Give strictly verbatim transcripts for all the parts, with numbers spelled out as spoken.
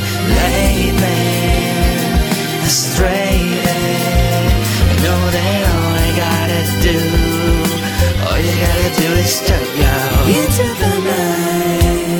late man, astray. I know that all I gotta do, all you gotta do is step out into the night.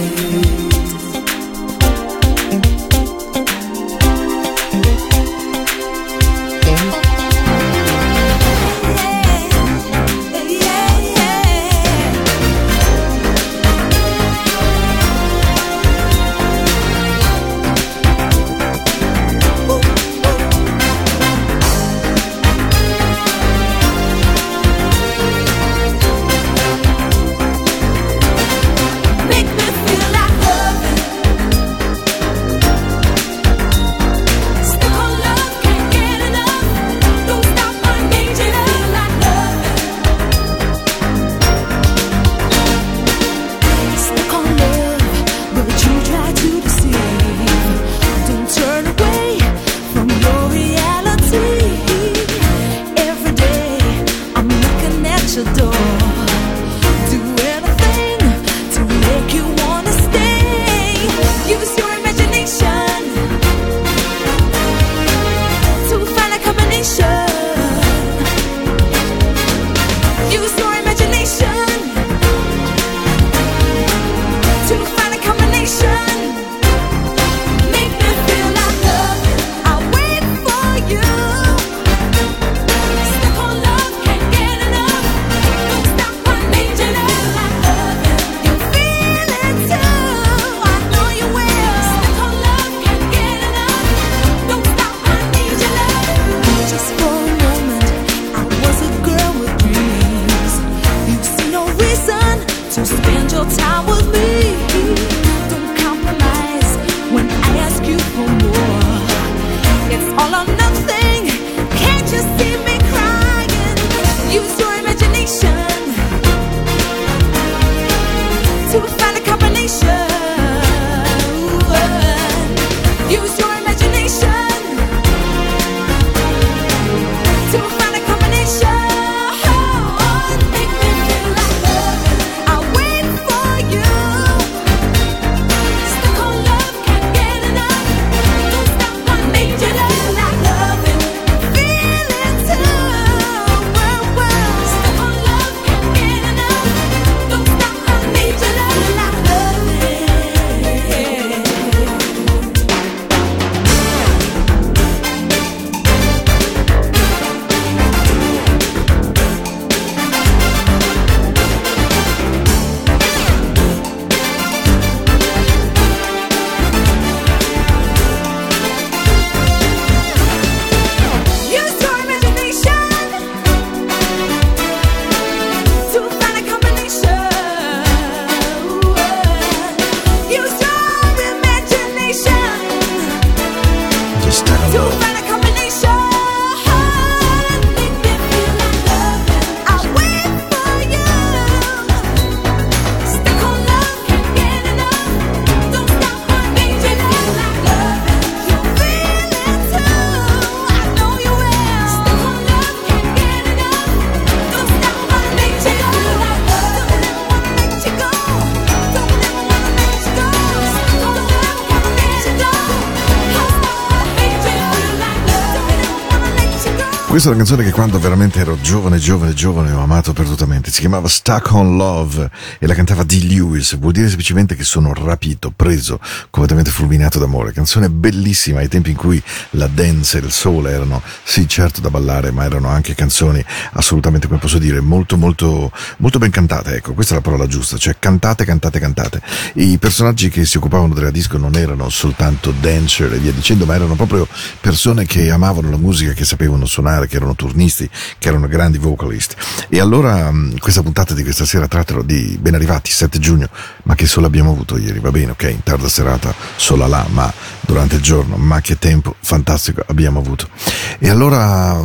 Questa è una canzone che quando veramente ero giovane, giovane, giovane ho amato perdutamente. Si chiamava Stuck on Love e la cantava Dee Lewis. Vuol dire semplicemente che sono rapito, preso, completamente fulminato d'amore. Canzone bellissima ai tempi in cui la dance e il soul erano, sì certo da ballare, ma erano anche canzoni assolutamente, come posso dire, molto molto molto ben cantate. Ecco, questa è la parola giusta, cioè cantate, cantate, cantate. I personaggi che si occupavano della disco non erano soltanto dancer e via dicendo, ma erano proprio persone che amavano la musica, che sapevano suonare, che erano turnisti, che erano grandi vocalist. E allora questa puntata di questa sera trattano di ben arrivati sette giugno, ma che solo abbiamo avuto ieri, va bene, ok, in tarda serata sola là, ma durante il giorno, ma che tempo fantastico abbiamo avuto. E allora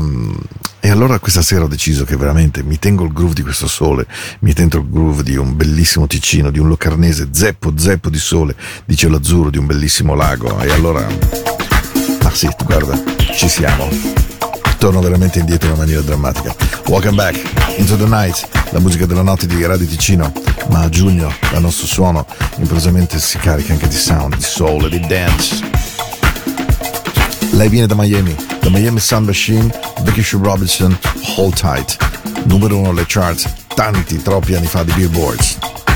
e allora questa sera ho deciso che veramente mi tengo il groove di questo sole, mi tengo il groove di un bellissimo Ticino, di un locarnese zeppo zeppo di sole, di cielo azzurro, di un bellissimo lago. E allora ah sì, guarda, ci siamo, torno veramente indietro in una maniera drammatica. Welcome back into the night, la musica della notte di Radio Ticino, ma a giugno il nostro suono improvvisamente si carica anche di sound, di soul e di dance. Lei viene da Miami, da Miami Sound Machine, Vicky Sue Robinson, Hold Tight. Numero uno alle charts, tanti, troppi anni fa di Billboards.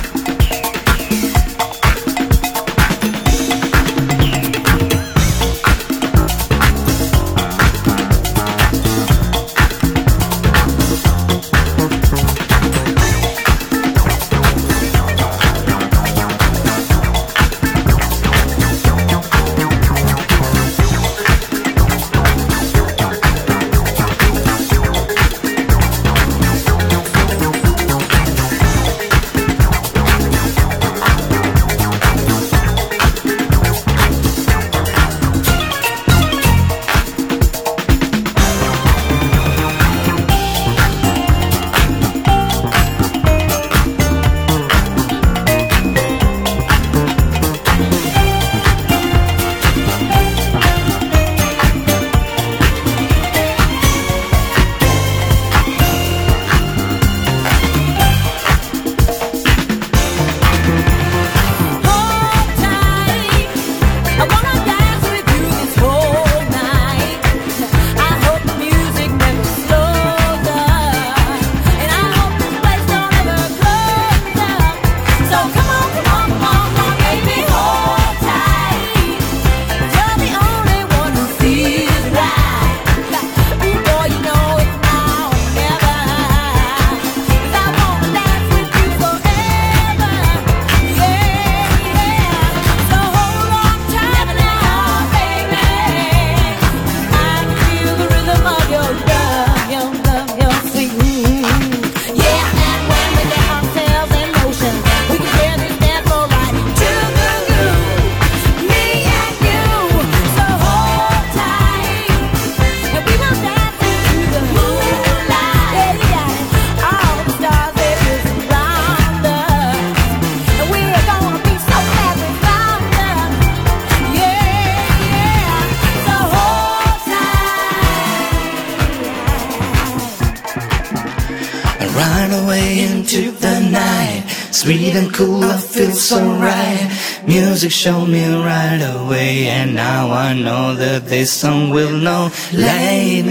Sweet and cool, I feel so right. Music showed me right away, and now I know that this song will know. Lead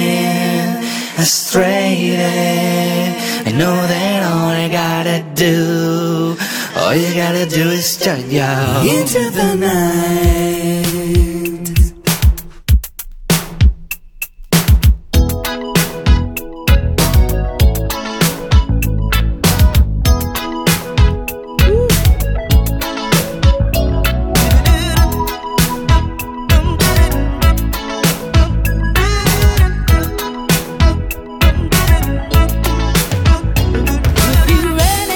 me astray. I know that all I gotta do, all you gotta do is turn you into the night.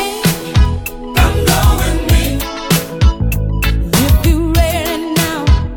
If you ready now,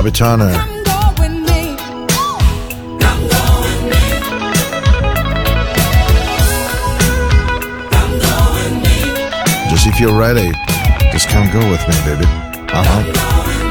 Robbie Turner. Just if you're ready, just come go with me, baby. Uh-huh.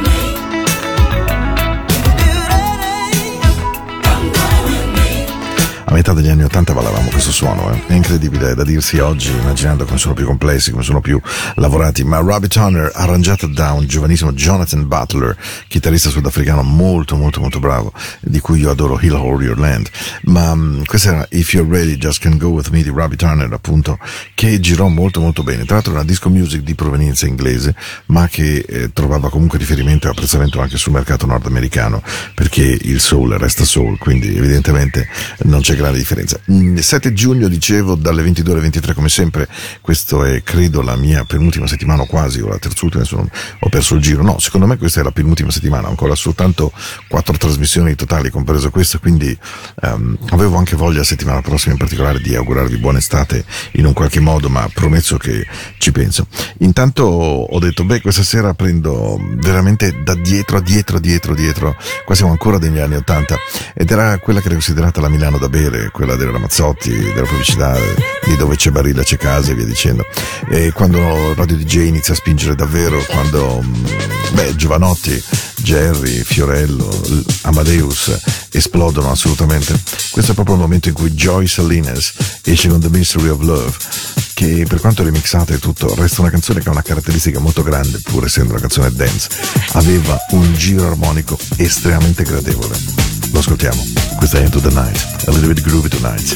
A metà degli anni ottanta ballavamo questo suono, eh? È incredibile da dirsi oggi, immaginando come sono più complessi, come sono più lavorati, ma Robbie Turner, arrangiato da un giovanissimo Jonathan Butler, chitarrista sudafricano molto molto molto bravo, di cui io adoro He'll Hold Your Land, ma um, questa era If You're Ready, Just Can Go With Me di Robbie Turner, appunto, che girò molto molto bene, tra l'altro una disco music di provenienza inglese, ma che eh, trovava comunque riferimento e apprezzamento anche sul mercato nordamericano, perché il soul resta soul, quindi evidentemente non c'è grande differenza. Il sette giugno, dicevo, dalle ventidue alle ventitré, come sempre. Questo è, credo, la mia penultima settimana, o quasi, o la terzultima, adesso ho perso il giro. No, secondo me questa è la penultima settimana, ancora soltanto quattro trasmissioni totali, compreso questa, quindi um, avevo anche voglia, settimana prossima in particolare, di augurarvi buona estate in un qualche modo, ma prometto che ci penso. Intanto ho detto, beh, questa sera prendo veramente da dietro a dietro a dietro a dietro, qua siamo ancora degli anni ottanta, ed era quella che era considerata la Milano da bere, quella dei Ramazzotti, della pubblicità, di dove c'è Barilla c'è casa e via dicendo. E quando Radio D J inizia a spingere davvero, quando beh, Giovanotti, Jerry, Fiorello, Amadeus esplodono assolutamente, questo è proprio il momento in cui Joy Salinas esce con The Mystery of Love, che per quanto remixata e tutto resta una canzone che ha una caratteristica molto grande, pur essendo una canzone dance. Aveva un giro armonico estremamente gradevole. Lo ascoltiamo. Questa è Into the Night, a little bit groovy tonight.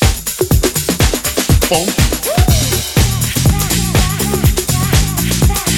Funk.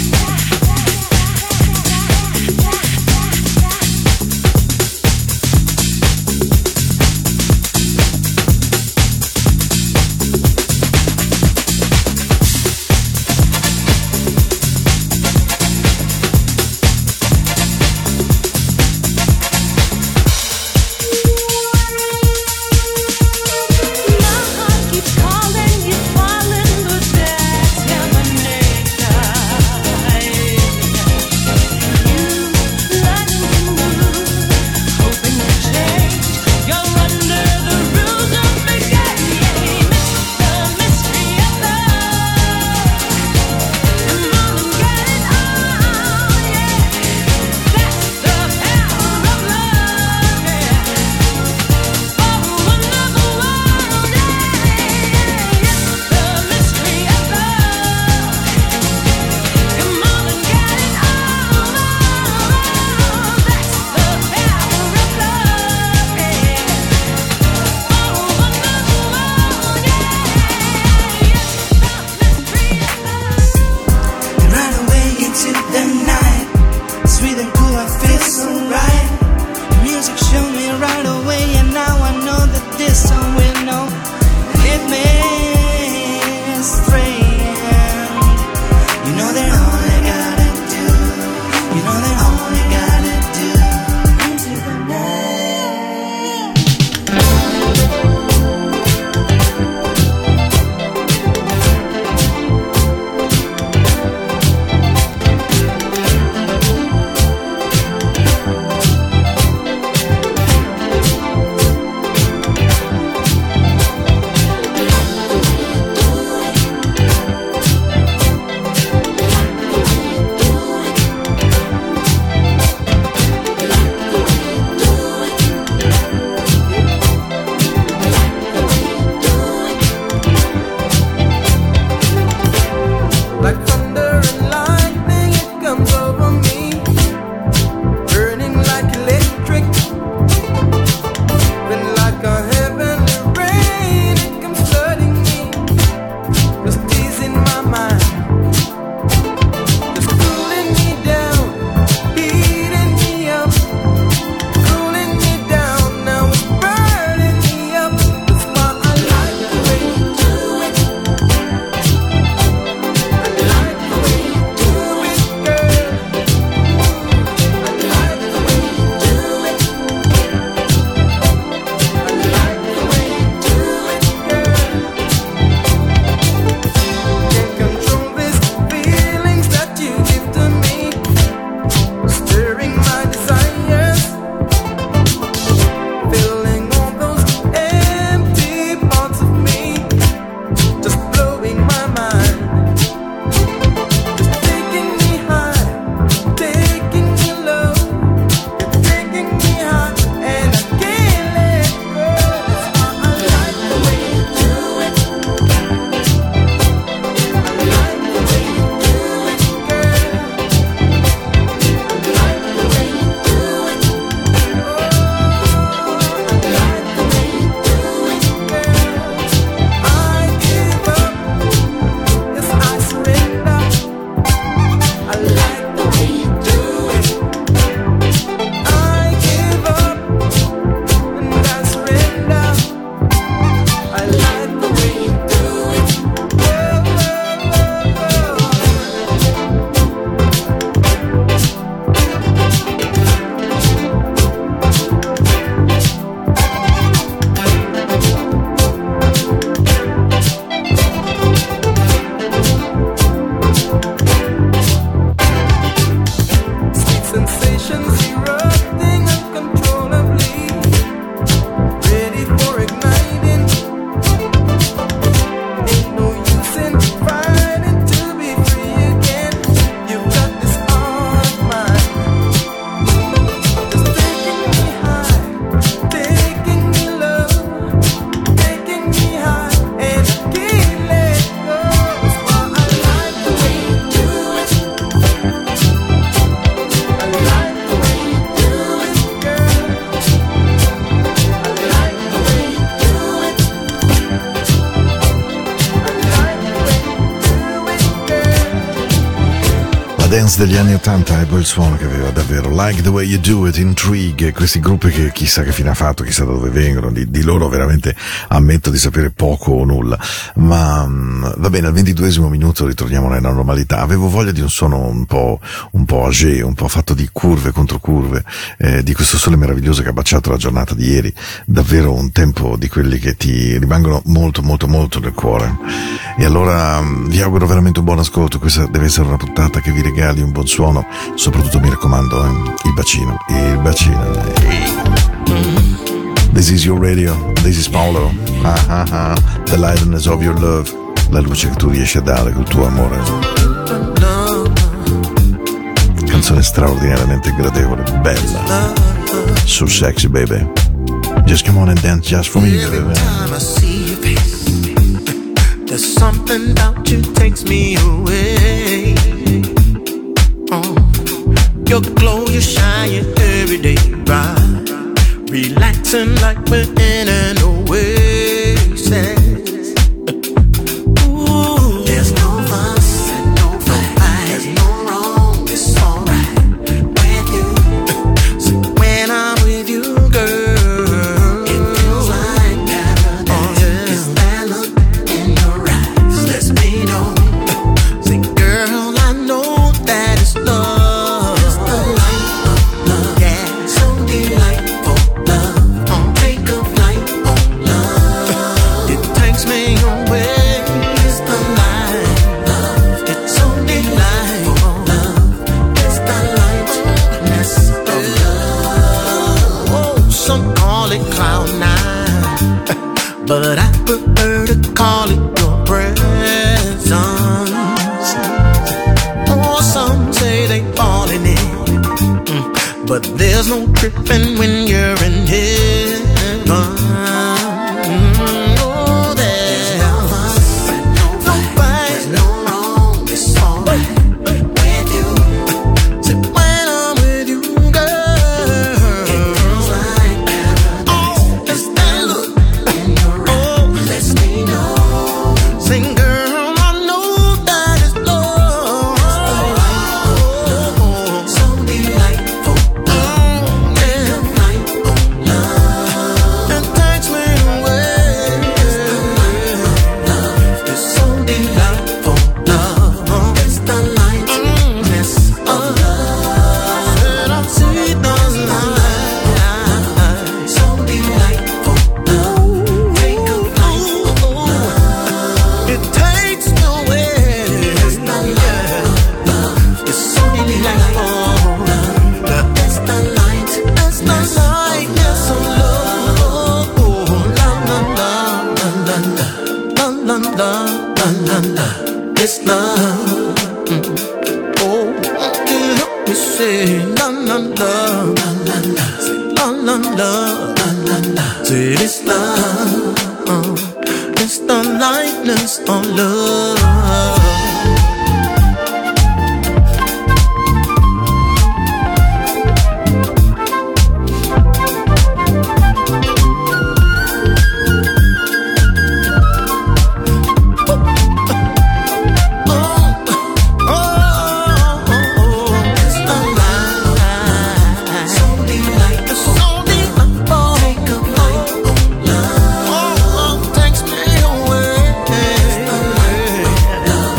dance degli anni ottanta è quel suono che aveva davvero. Like the way you do it, Intrigue, questi gruppi che chissà che fine ha fatto, chissà da dove vengono, di, di loro veramente ammetto di sapere poco o nulla, ma mh, va bene, al ventiduesimo minuto ritorniamo nella normalità. Avevo voglia di un suono un po', un po' âgé, un po' fatto di curve contro curve, eh, di questo sole meraviglioso che ha baciato la giornata di ieri, davvero un tempo di quelli che ti rimangono molto molto molto nel cuore. E allora mh, vi auguro veramente un buon ascolto. Questa deve essere una puntata che vi regali un buon suono, soprattutto mi raccomando eh, il bacino, il bacino. This is your radio, this is Paolo, ah, ah, ah. The lightness of your love, la luce che tu riesci a dare col tuo amore. Canzone straordinariamente gradevole, bella, so sexy baby, just come on and dance just for me baby. There's something about you takes me away. Oh, your glow, you shine every day, right? Relaxing like we're in an oasis. Ooh, there's no fuss and no fight. There's no wrong, it's alright with you. So when I'm with you, girl, it feels like paradise. Oh, yeah. It's that look in your eyes lets me know. Say, girl, I know that it's love. It's the light of love, yeah, so delightful. But I prefer to call it your presence. Oh, some say they falling in, mm, but there's no tripping when you're in heaven. Mm, oh, there's no fuss, no fight, there's no wrong, it's alright with you. So when I'm with you, girl, it feels like paradise. Oh, it's that look. Sing, girl, I know that it's love. It's so delightful. Oh, yeah. Love. It takes me away. It's so delightful. Love. It's the lightness of love. And I see the light. So delightful. Love. Take a flight. It takes me away. It's the light, love. It's so delightful. It's the light, it's the light, yes, oh love. La la la la la la la la la la. It's love. Mm. Oh, can help me say la la la la la la. Say la la la la la la. Say it's love. Uh. It's the lightness of love. Love.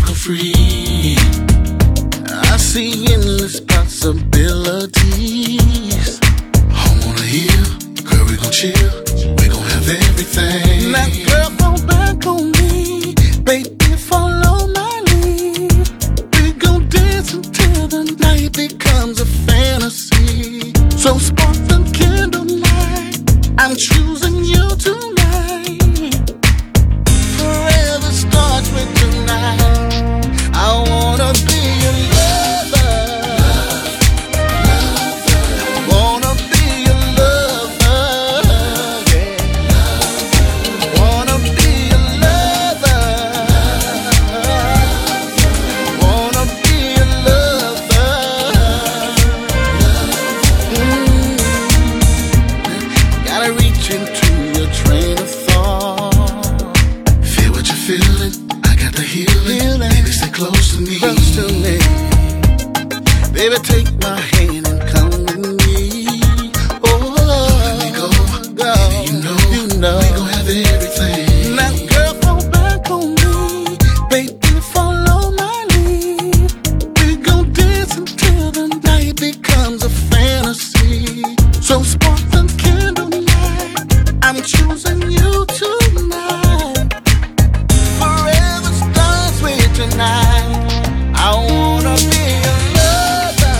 her free. I see endless possibilities. I wanna heal, girl, we gon' chill. We gon' have everything. Now, girl, fall back on me. Baby, follow my lead. We gon' dance until the night becomes a fantasy. So sparkling candlelight, I'm choosing you tonight. Forever starts with tonight. I wanna be your lover. Wanna be your lover. Yeah. Wanna be your lover. Wanna be your lover. Mm. Gotta reach into your train of thought. Feel what you're feeling. I got the healing. Baby, stay close to me. Close to me. Baby, take my hand and come with me. Oh, let me go. go. Baby, you know, you know, we gon' have everything. Now, girl, fall back on me. Baby, follow my lead. We gon' dance until the night becomes a fantasy. So sparkling candlelight, I'm choosing you tonight. Forever starts with tonight. I wanna be your lover.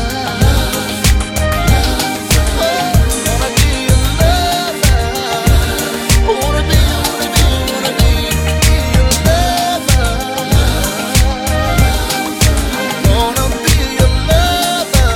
Oh, wanna be your lover. Wanna be, wanna be, wanna be, be your lover. Wanna be your lover.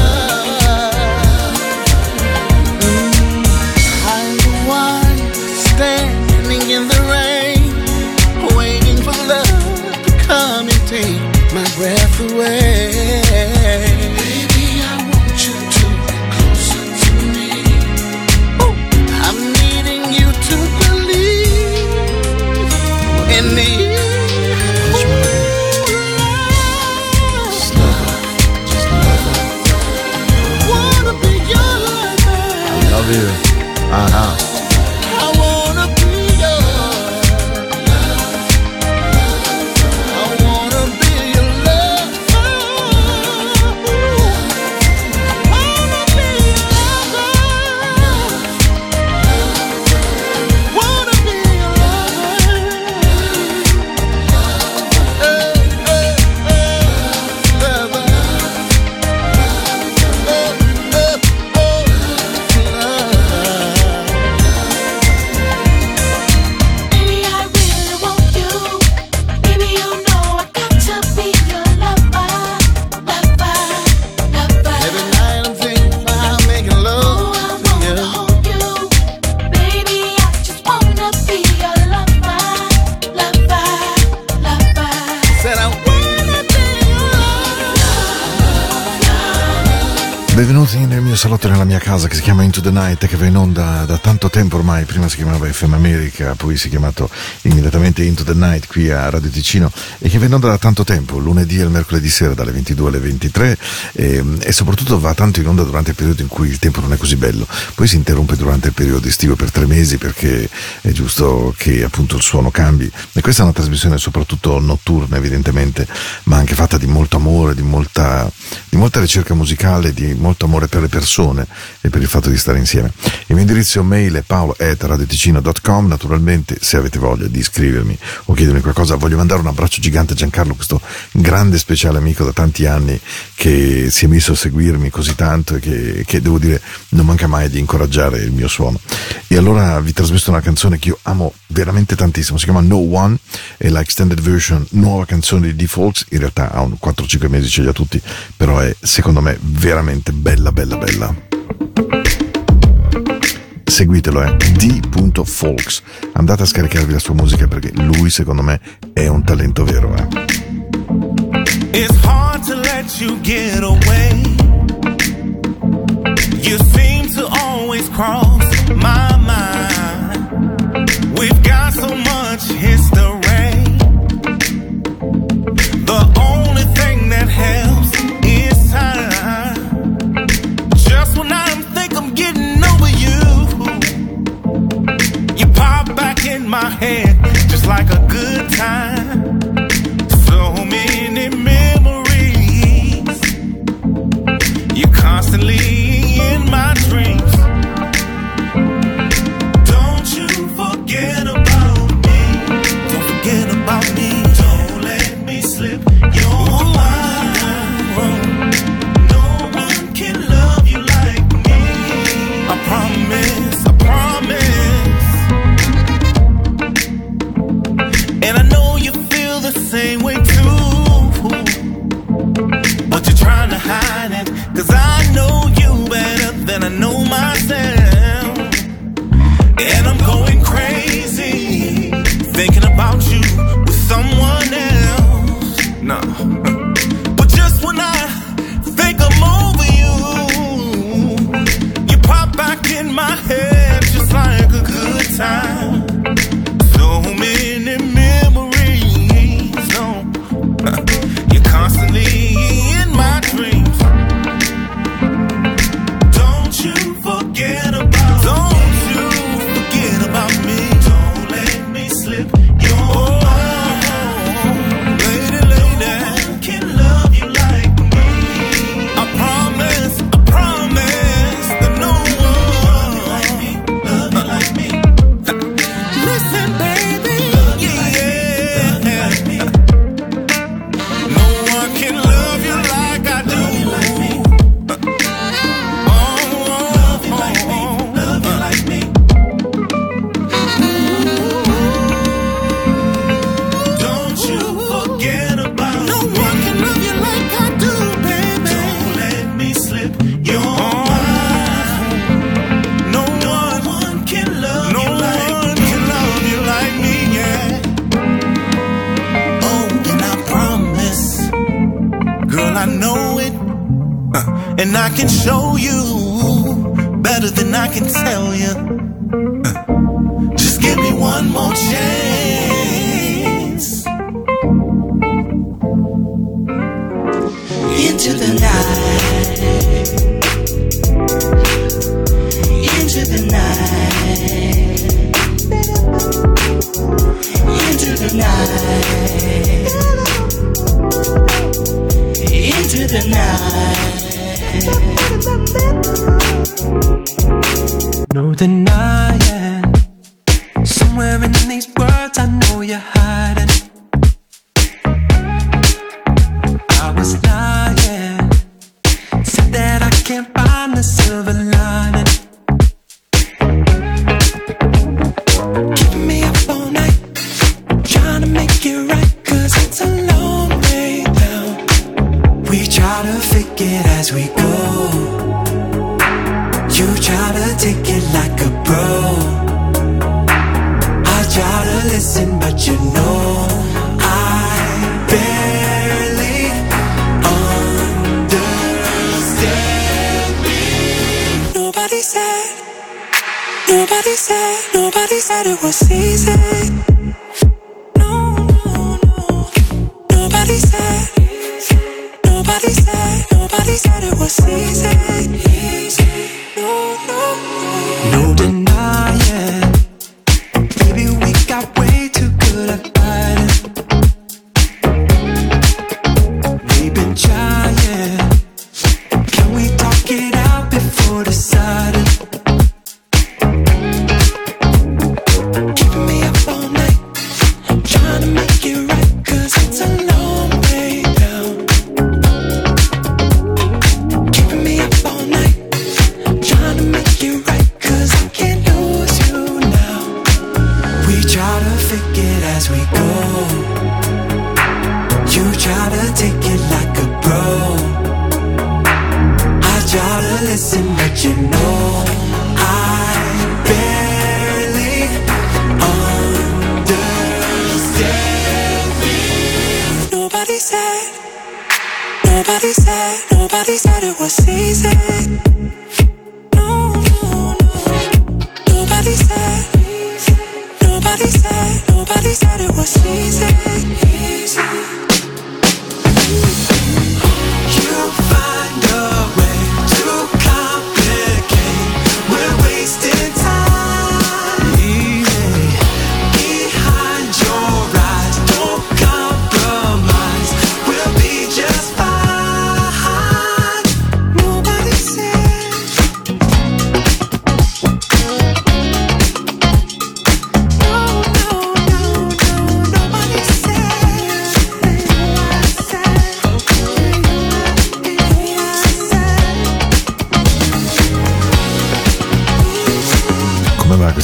I'm the one standing in the rain, waiting for love to come and take my breath away. Baby, I want you to get closer to me. Ooh. I'm needing you to believe in me. Just love her. Just love her. Wanna be your lover. Love you. Uh-huh. I wanna be yours. I wanna be your lover. Wanna be your lover. Wanna be your lover. Hey, hey, hey, lover. Oh, oh, oh, lover. Baby, I really want you. Baby, you know I got to be your lover, lover, lover. Every night I'm thinking about making Oh, love I to wanna you. hold you. Baby, I just wanna be your lover, lover, lover. Said I wanna be your Benvenuti nel mio salotto, nella mia casa, che si chiama Into the Night, che va in onda da tanto tempo ormai. Prima si chiamava F M America, poi si è chiamato immediatamente Into the Night qui a Radio Ticino, e che va in onda da tanto tempo, lunedì e il mercoledì sera dalle ventidue alle ventitré, e, e soprattutto va tanto in onda durante il periodo in cui il tempo non è così bello. Poi si interrompe durante il periodo estivo per tre mesi, perché è giusto che appunto il suono cambi, e questa è una trasmissione soprattutto notturna evidentemente, ma anche fatta di molto amore, di molta, di molta ricerca musicale, di molto amore per le persone e per il fatto di stare insieme. Il mio indirizzo mail è paolo at radioticino punto com. Naturalmente, se avete voglia di iscrivermi o chiedermi qualcosa, voglio mandare un abbraccio gigante a Giancarlo, questo grande speciale amico da tanti anni che si è messo a seguirmi così tanto e che, che devo dire non manca mai di incoraggiare il mio suono. E allora vi trasmetto una canzone che io amo veramente tantissimo, si chiama No One, è la extended version, nuova canzone di Folks. In realtà ha un quattro cinque mesi, ce li ha tutti, però è secondo me veramente bella bella bella. Seguitelo, eh, D. Folks, andate a scaricarvi la sua musica, perché lui secondo me è un talento vero, eh. It's hard to let you get away. You seem to always cross my mind. We've got so much history. The only thing that helps is time. Just when I think I'm getting over you, you pop back in my head just like a good time. So many many memories. You're constantly in my dreams. Don't you forget about me. Don't forget about me. Don't let me slip your mind. No one can love you like me. I promise, I promise. And I know you feel the same way too, but you're trying to hide it, 'cause I know you better than I know myself. And I'm going crazy, thinking about you with someone else. No, but just when I think I'm over you, you pop back in my head just like a good time. So many memories, no, you're constantly in my dreams. Don't you forget about Don't me. you forget about me. Don't let me slip your mind. Lady, lady, no one can love you like me. I promise, I promise that no one love you like me, love you like me. Listen, baby, yeah, yeah. No one can love you like I do. Like me. Oh, love you like me, love you like me. Don't you forget about No me. one can love you like I do, baby. Don't let me slip your mind. No one can love no you like one me. can love you like me, yeah. Oh, and I promise, girl, I know it, uh, and I can show you better than I can tell you. Uh, just give me one more chance. Into the night, into the night, into the night, into the night. No denying, somewhere in these words I know you're hiding. I was lying, said that I can't find the silver lining. Keeping me up all night, trying to make it right, 'cause it's a long way down. We try to fake it as we go. You try to take it like a pro. I try to listen, but you know I barely understand me. Nobody said, nobody said, nobody said it was easy. No, no, no. Nobody said, nobody said, nobody said it was easy. Easy. No, no, no denying, baby, we got way too good at fighting. We've been trying, can we talk it out before deciding? Keeping me up all night, trying to make it right, 'cause it's a long way down. Keeping me up all night, trying to make it right, 'cause I can't lose you now. We try to fake it as we go. You try to take it like a pro. I try to listen, but you know I barely understand me. Nobody said, nobody said, nobody said it was easy. No, no, no. Nobody said, nobody said, nobody said it was easy. Easy. You find a way to complicate. We're wasting time. Easy. Behind your eyes, don't compromise. We're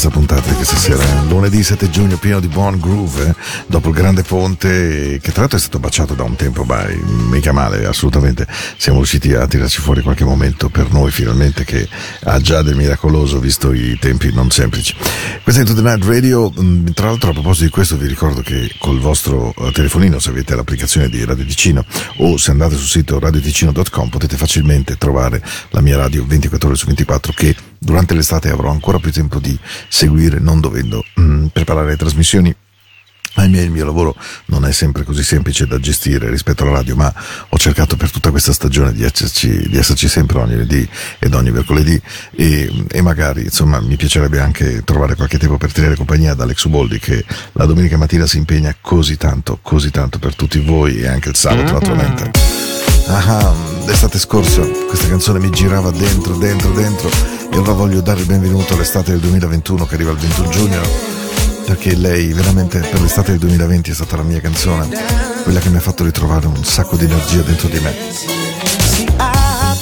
questa puntata di questa sera. Lunedì sette giugno, pieno di buon groove, eh? Dopo il grande ponte, che tra l'altro è stato baciato da un tempo, bye, mica male, assolutamente. Siamo riusciti a tirarci fuori qualche momento per noi, finalmente, che ha già del miracoloso, visto i tempi non semplici. Questa è Into the Night Radio. Tra l'altro, a proposito di questo, vi ricordo che col vostro telefonino, se avete l'applicazione di Radio Ticino o se andate sul sito radio ticino punto com, potete facilmente trovare la mia radio ventiquattro ore su ventiquattro, che durante l'estate avrò ancora più tempo di seguire, non dovendo mm, preparare le trasmissioni. Ahimè, il mio lavoro non è sempre così semplice da gestire rispetto alla radio, ma ho cercato per tutta questa stagione di esserci, di esserci sempre ogni lunedì ed ogni mercoledì, e, e magari, insomma, mi piacerebbe anche trovare qualche tempo per tenere compagnia ad Alex Uboldi, che la domenica mattina si impegna così tanto, così tanto per tutti voi, e anche il sabato, naturalmente. Ah, l'estate scorsa questa canzone mi girava dentro, dentro, dentro, e ora voglio dare il benvenuto all'estate del duemilaventuno che arriva il ventuno giugno, perché lei veramente per l'estate del duemilaventi è stata la mia canzone, quella che mi ha fatto ritrovare un sacco di energia dentro di me. See, I,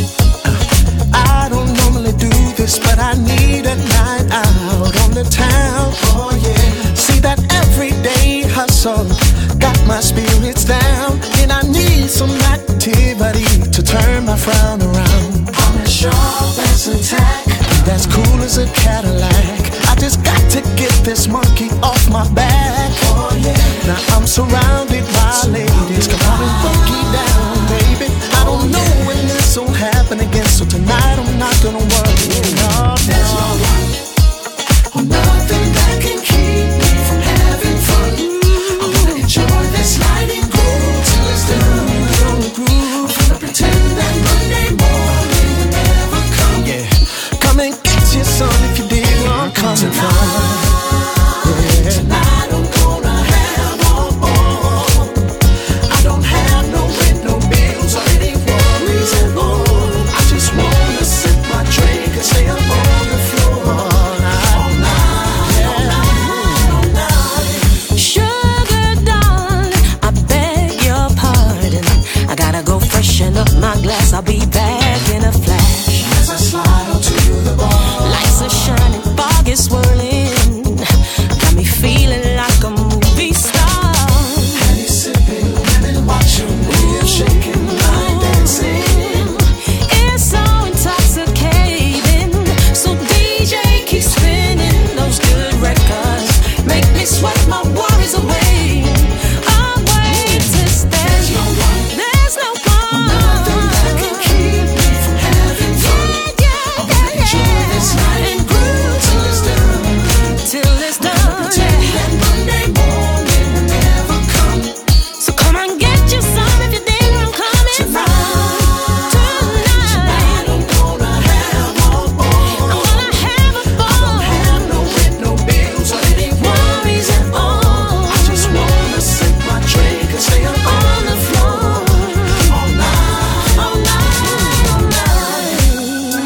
I don't normally do this, but I need a night out on the town. Oh yeah. See that everyday hustle got my spirits down, and I need some activity to turn my frown around. I'm as sharp as a tack, that's cool as a Cadillac. I just got to get this monkey off my back. Oh yeah. Now I'm surrounded by ladies. Come on and funky down, baby. I don't know when this will happen again, so tonight I'm not gonna worry. No, there's no one or nothing that can keep me from having fun. I wanna enjoy this night and groove till it's done. I'm gonna pretend that Monday morning will never come. Yeah. Come and get your son if you dig where I'm coming from. Yeah. Tonight I'm gonna have all, all. I don't have no rent, no bills, or any worries at all. I just wanna sip my drink and stay up on the floor all night, all night, all night, all night. Sugar darling, I beg your pardon. I gotta go freshen up my glass. I'll be back in a flash. As I slide onto the bar, Lights are shining, fog is swirling. Got me feeling like a movie star. and he's sipping, women watching me, I'm shaking, I'm dancing. It's so intoxicating. So D J keep spinning those good records. Make me sweat my worries away. I'm way to stay. There's no one, There's no one. nothing that can keep me from having fun. Yeah, yeah, I wanna enjoy this night and groove till it's done. till it's done. Pretend that Monday morning will never come. So come on, get you some if you think where I'm coming from. Tonight, I'm gonna have all, I all. wanna have a ball. Have no rent, no bills, or any worries at all. I just wanna sip my drink and stay up on the floor all night, All night, all night.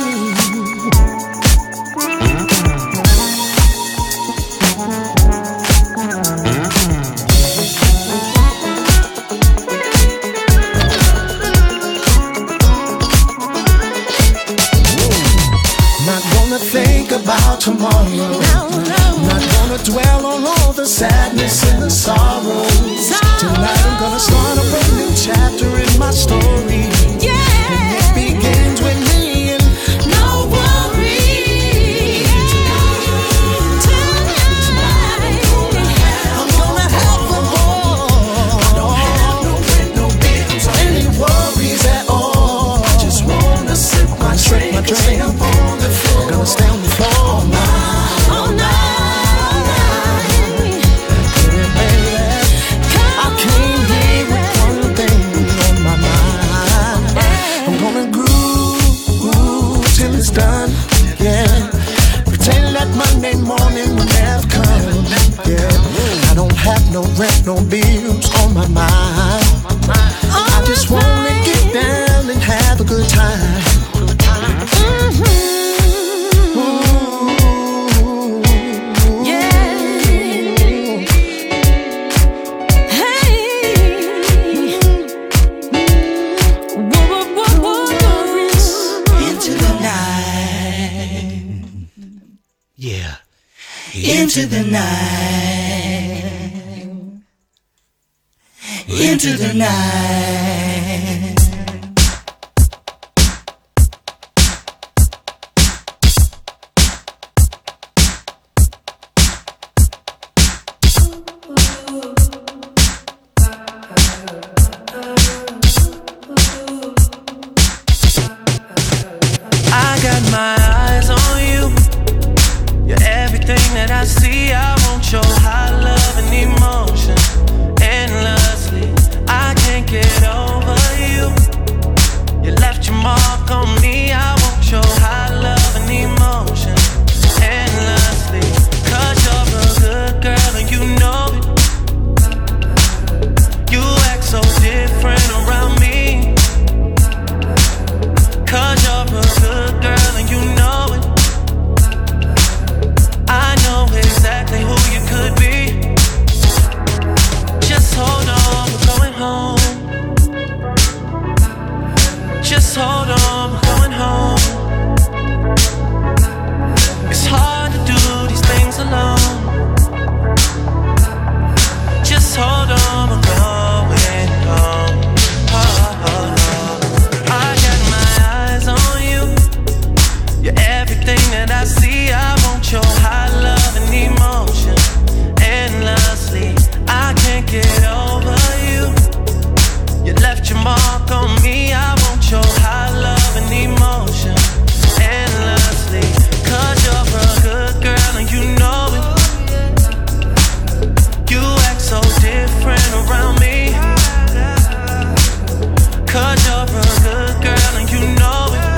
Not gonna think about tomorrow. No, no. Not gonna dwell on all the sadness and the sorrows. Tonight I'm gonna start a brand new chapter in my story. Yeah. It begins with me and No worries. Tonight. I'm gonna have a ball. I don't have no rent, no bills, or any worries at all. I just wanna sip my drink, my drink. Stay up on the floor. I'm gonna stay on the floor all night, All night, all night. baby. I came here with one thing on my mind. I'm gonna groove till it's done, yeah. Pretend that Monday morning will never come, yeah. I don't have no rent, no bills on my mind. I just wanna get down and have a good time. Ooh. Yeah. Hey. Whoa, whoa, whoa, whoa. Into the night. Yeah. into the night, into the night. I got my eyes on you. You're everything that I see. I want your high love and emotion endlessly. I can't get over you. You left your mark on me. I want your high love and emotion endlessly. Cause you're a good girl and you know it. You act so different around me. Cause you're a good girl and you know it. I know exactly who you could be. Just hold on, we're going home. Just hold on, we're going home. It's hard to do these things alone. Just hold on, we're going home. Oh, oh, oh. I got my eyes on you. You're everything that I see. I want your high love and emotion endlessly. I can't get over you. You left your mark on me. I want your high love and emotion endlessly. Cause you're a good girl and you know it. You act so different around me. Cause you're a good girl and you know it.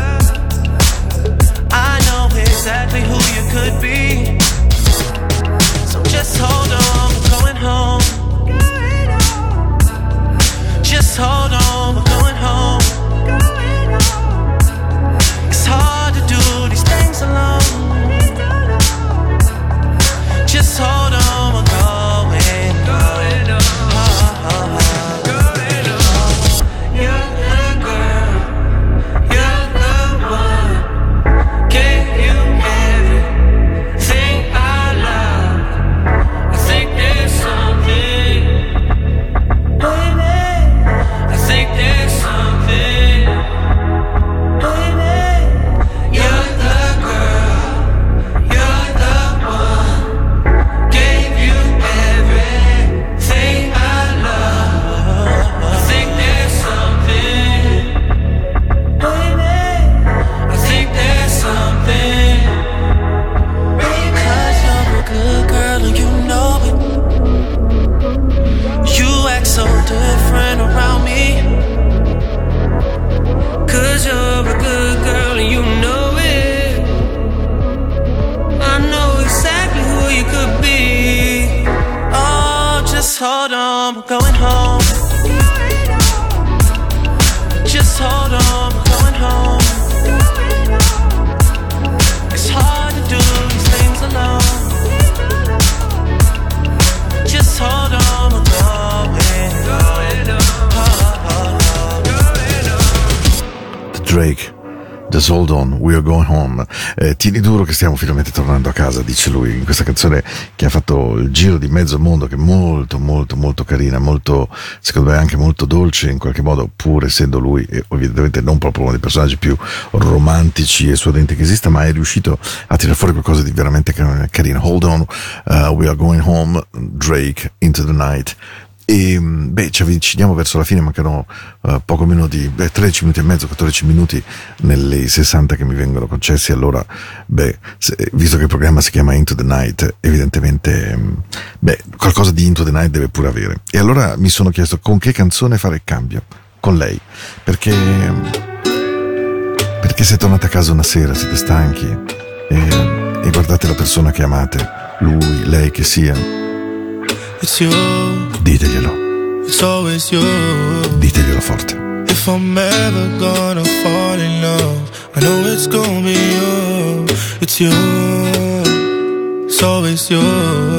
I know exactly who you could be. So just hold on, we're going home. Just hold on, we're going home. It's hard to do these things alone. Just hold on, we're going home. Oh, oh, oh. You're the girl, you're the one. Gave you everything I love. I think there's something, baby. I think there's something, baby. You're the girl, you're the one. Gave you everything I love. I think there's something, baby. I think there's something. Because you're a good girl and you know it. You act so different around me. Cause you're a good girl and you know it. I know exactly who you could be. Oh, just hold on, we're going home. Just hold on, we're going home. It's hard to do these things alone. Just hold on, we're going home. Oh, oh, oh. Drake, Just Hold On, We're Going Home. Eh, tieni duro che stiamo finalmente tornando a casa, dice lui, in questa canzone che ha fatto il giro di mezzo mondo, che è molto molto molto carina, molto, secondo me anche molto dolce in qualche modo, pur essendo lui e evidentemente non proprio uno dei personaggi più romantici e suadenti che esista, ma è riuscito a tirare fuori qualcosa di veramente carino. Hold On, uh, We Are Going Home, Drake, Into the Night. E beh, ci avviciniamo verso la fine, mancano uh, poco meno di beh, tredici minuti e mezzo, quattordici minuti nelle sessanta che mi vengono concessi. Allora, beh, se, visto che il programma si chiama Into the Night, evidentemente beh, qualcosa di Into the Night deve pure avere. E allora mi sono chiesto con che canzone fare il cambio con lei, perché perché se tornate a casa una sera, siete stanchi e, e guardate la persona che amate, lui, lei che sia, It's you, diteglielo, it's always you. diteglielo forte. If I'm ever gonna fall in love, I know it's gonna be you. It's you, it's always you.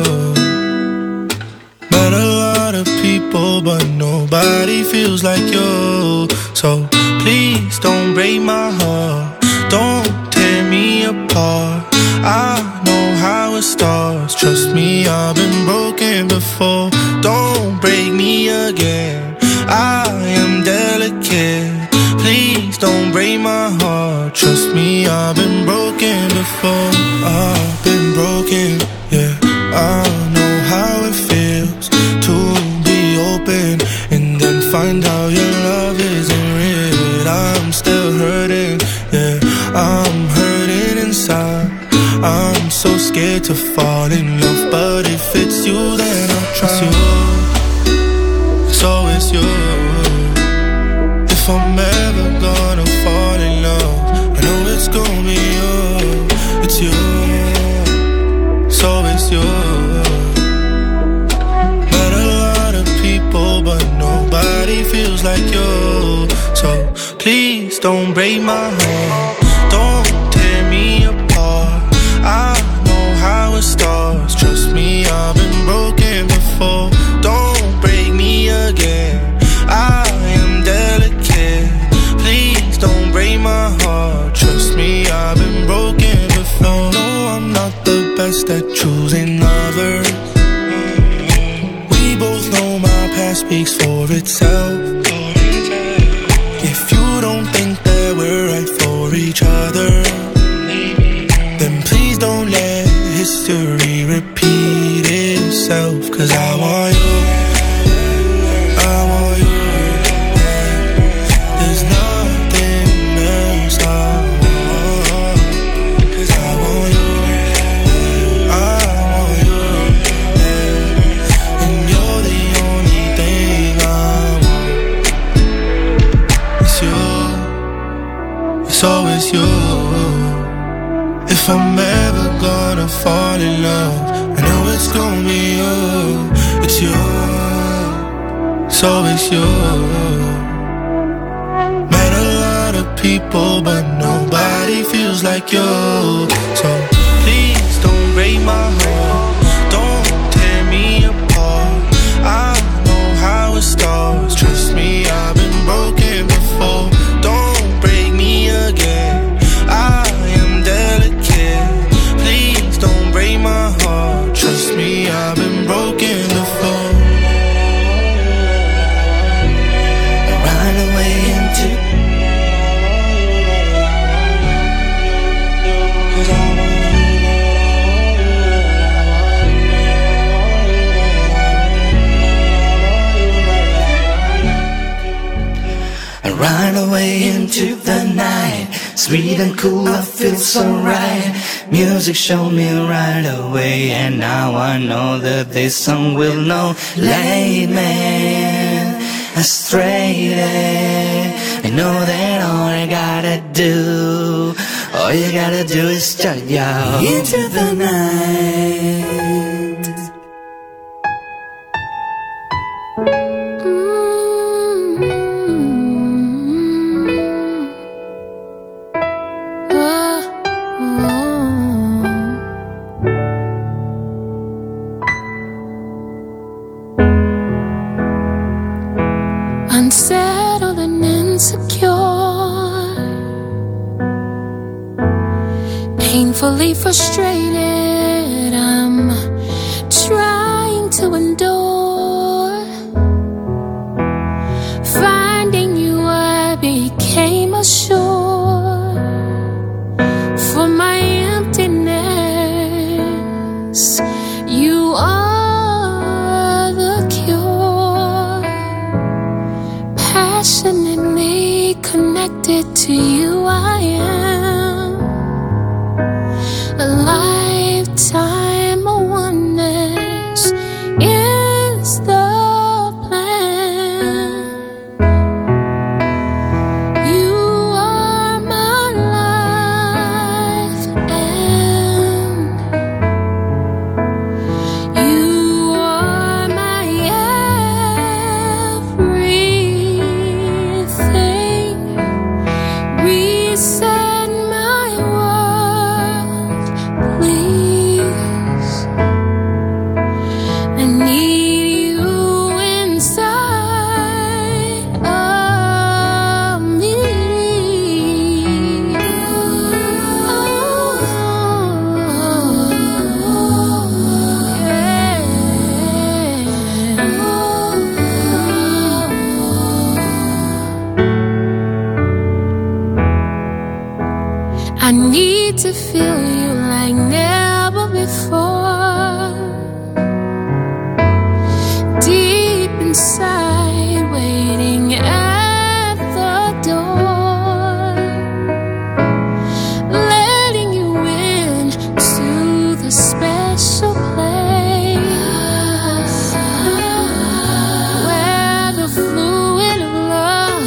Met a lot of people, but nobody feels like you. So please don't break my heart, don't tear me apart. I know how it it starts. Trust me, I've been broken before. Don't break me again. I am delicate. Please don't break my heart. Trust me, I've been broken before. I've been broken, yeah. I know how it feels to be open and then find out your love isn't real. I'm still hurting, yeah. I'm hurting inside. I'm so scared to fall in love, but if it's you, then I'll trust you. So it's you. If I'm ever gonna fall in love, I know it's gonna be you. It's you. So it's you. Met a lot of people, but nobody feels like you. So please don't break my heart. Don't tear me apart. I know how it starts. Trust me, I've been broken before. Don't break me again. I am delicate. Please don't break my heart. Trust me, I've been broken before. No, I'm not the best at choosing lovers. We both know my past speaks for itself. If you don't think that we're right for each other, then please don't let history repeat itself. Cause I want you, I want you. There's nothing else I want. Cause I want you, I want you. And you're the only thing I want. It's you, it's always you. If I'm ever gonna fall in love, I know it's gonna be you. It's you, so it's you. Met a lot of people, but nobody feels like you. So please don't break my heart. Don't tear me apart. I know how it starts. Trust me, I've been broken before. Don't break me again. I am delicate. Please don't break my heart. Trust me, I've been broken before. Run away into I run away into the night. Sweet and cool, I feel so right. Music showed me right away, and now I know that this song will know. Late man, astray. I know that all I gotta do, all you gotta do is start out into the night. Unsettled and insecure, painfully frustrated, I'm trying to endure. Finding you, I became a shore for my emptiness. You are the cure. Passionately connected to you, I am. A lifetime of oneness is the plan. You are my life, and you are my everything. Reset my world, please. need to feel you like never before. Deep inside, waiting at the door, letting you in to the special place where the fluid of love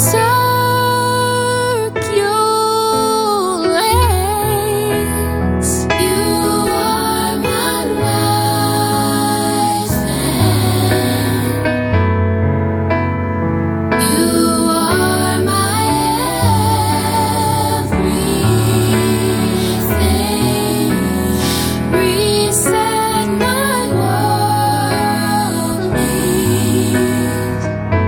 circulates. You are my life, and you are my everything. Reset my world, please.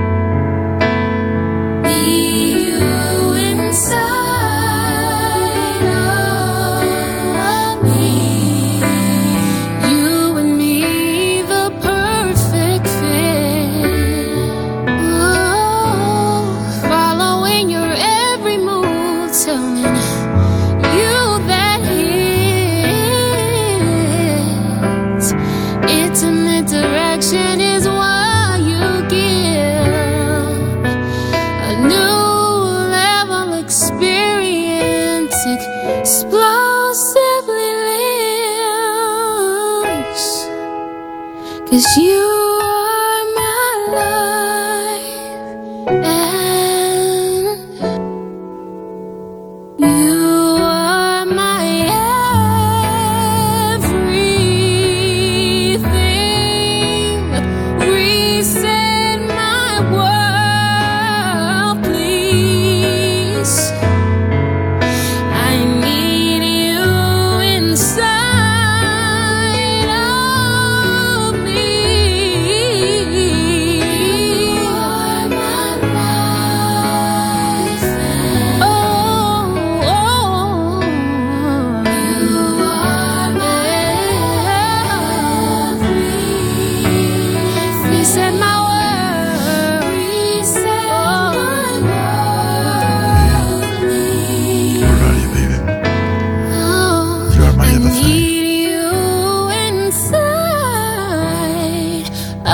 Be you inside of me. You and me, the perfect fit. Oh, following your every move, telling you that hits. Intimate direction is what you give. A new level experience, explosively lives. 'Cause you are my life, and you are my everything. Reset my world, please. I need you inside of me. You are my life, and oh, oh, you are my everything. Reset my world. Reset my world, please. Where are you, baby? Oh, You are my I everything. need you inside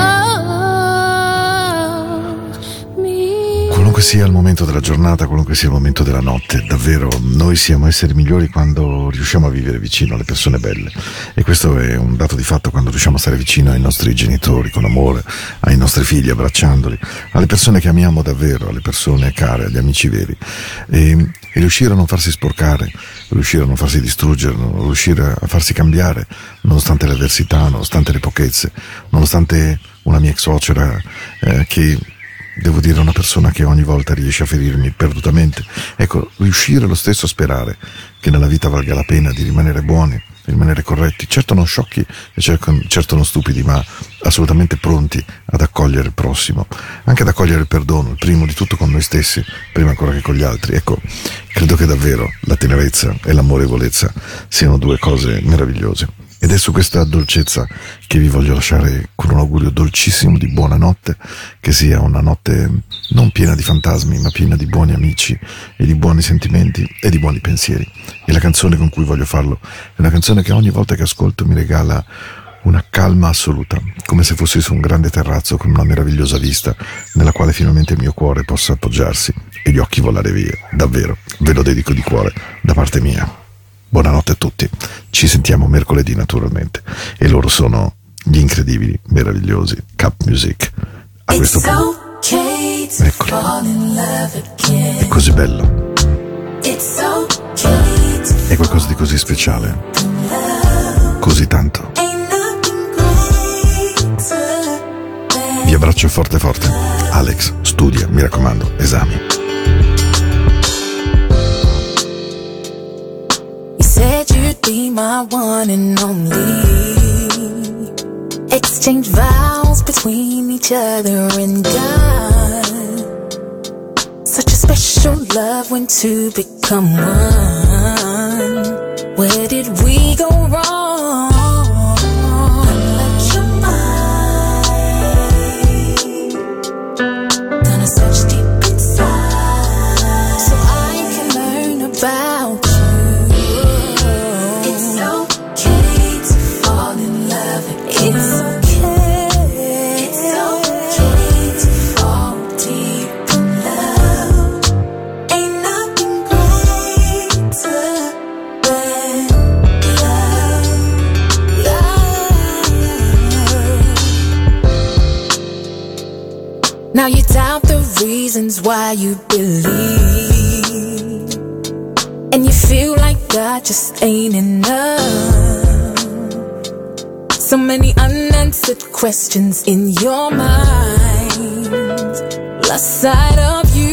of me. Qualunque sia il momento della giornata, qualunque sia il momento della notte, davvero noi siamo esseri migliori quando riusciamo a vivere vicino alle persone belle, e questo è un dato di fatto. Quando riusciamo a stare vicino ai nostri genitori con amore, ai nostri figli abbracciandoli, alle persone che amiamo davvero, alle persone care, agli amici veri, e, e riuscire a non farsi sporcare, riuscire a non farsi distruggere, riuscire a farsi cambiare nonostante le avversità, nonostante le pochezze, nonostante una mia ex suocera eh, che, devo dire, è una persona che ogni volta riesce a ferirmi perdutamente. Ecco, riuscire lo stesso a sperare che nella vita valga la pena di rimanere buoni, di rimanere corretti, certo non sciocchi e certo, certo non stupidi, ma assolutamente pronti ad accogliere il prossimo, anche ad accogliere il perdono, il primo di tutto con noi stessi, prima ancora che con gli altri. Ecco, credo che davvero la tenerezza e l'amorevolezza siano due cose meravigliose. Ed è su questa dolcezza che vi voglio lasciare con un augurio dolcissimo di buonanotte, che sia una notte non piena di fantasmi, ma piena di buoni amici e di buoni sentimenti e di buoni pensieri. E la canzone con cui voglio farlo è una canzone che ogni volta che ascolto mi regala una calma assoluta, come se fossi su un grande terrazzo con una meravigliosa vista nella quale finalmente il mio cuore possa appoggiarsi e gli occhi volare via. Davvero, ve lo dedico di cuore da parte mia. Buonanotte a tutti, ci sentiamo mercoledì naturalmente, e loro sono gli incredibili, meravigliosi Cup Music. A questo punto, eccolo, è così bello, è qualcosa di così speciale, così tanto. Vi abbraccio forte forte. Alex, studia, mi raccomando, esami. Said you'd be my one and only. Exchange vows between each other and God. Such a special love when two become one. Where did we go wrong? Unlock your mind. Gonna search deep inside so I can learn about you. reasons why you believe, and you feel like God just ain't enough. So many unanswered questions in your mind, lost sight of you.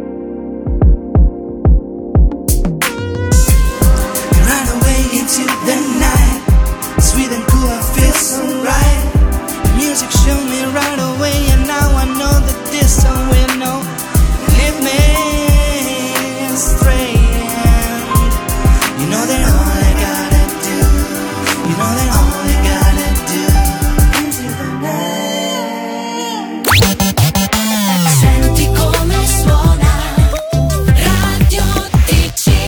The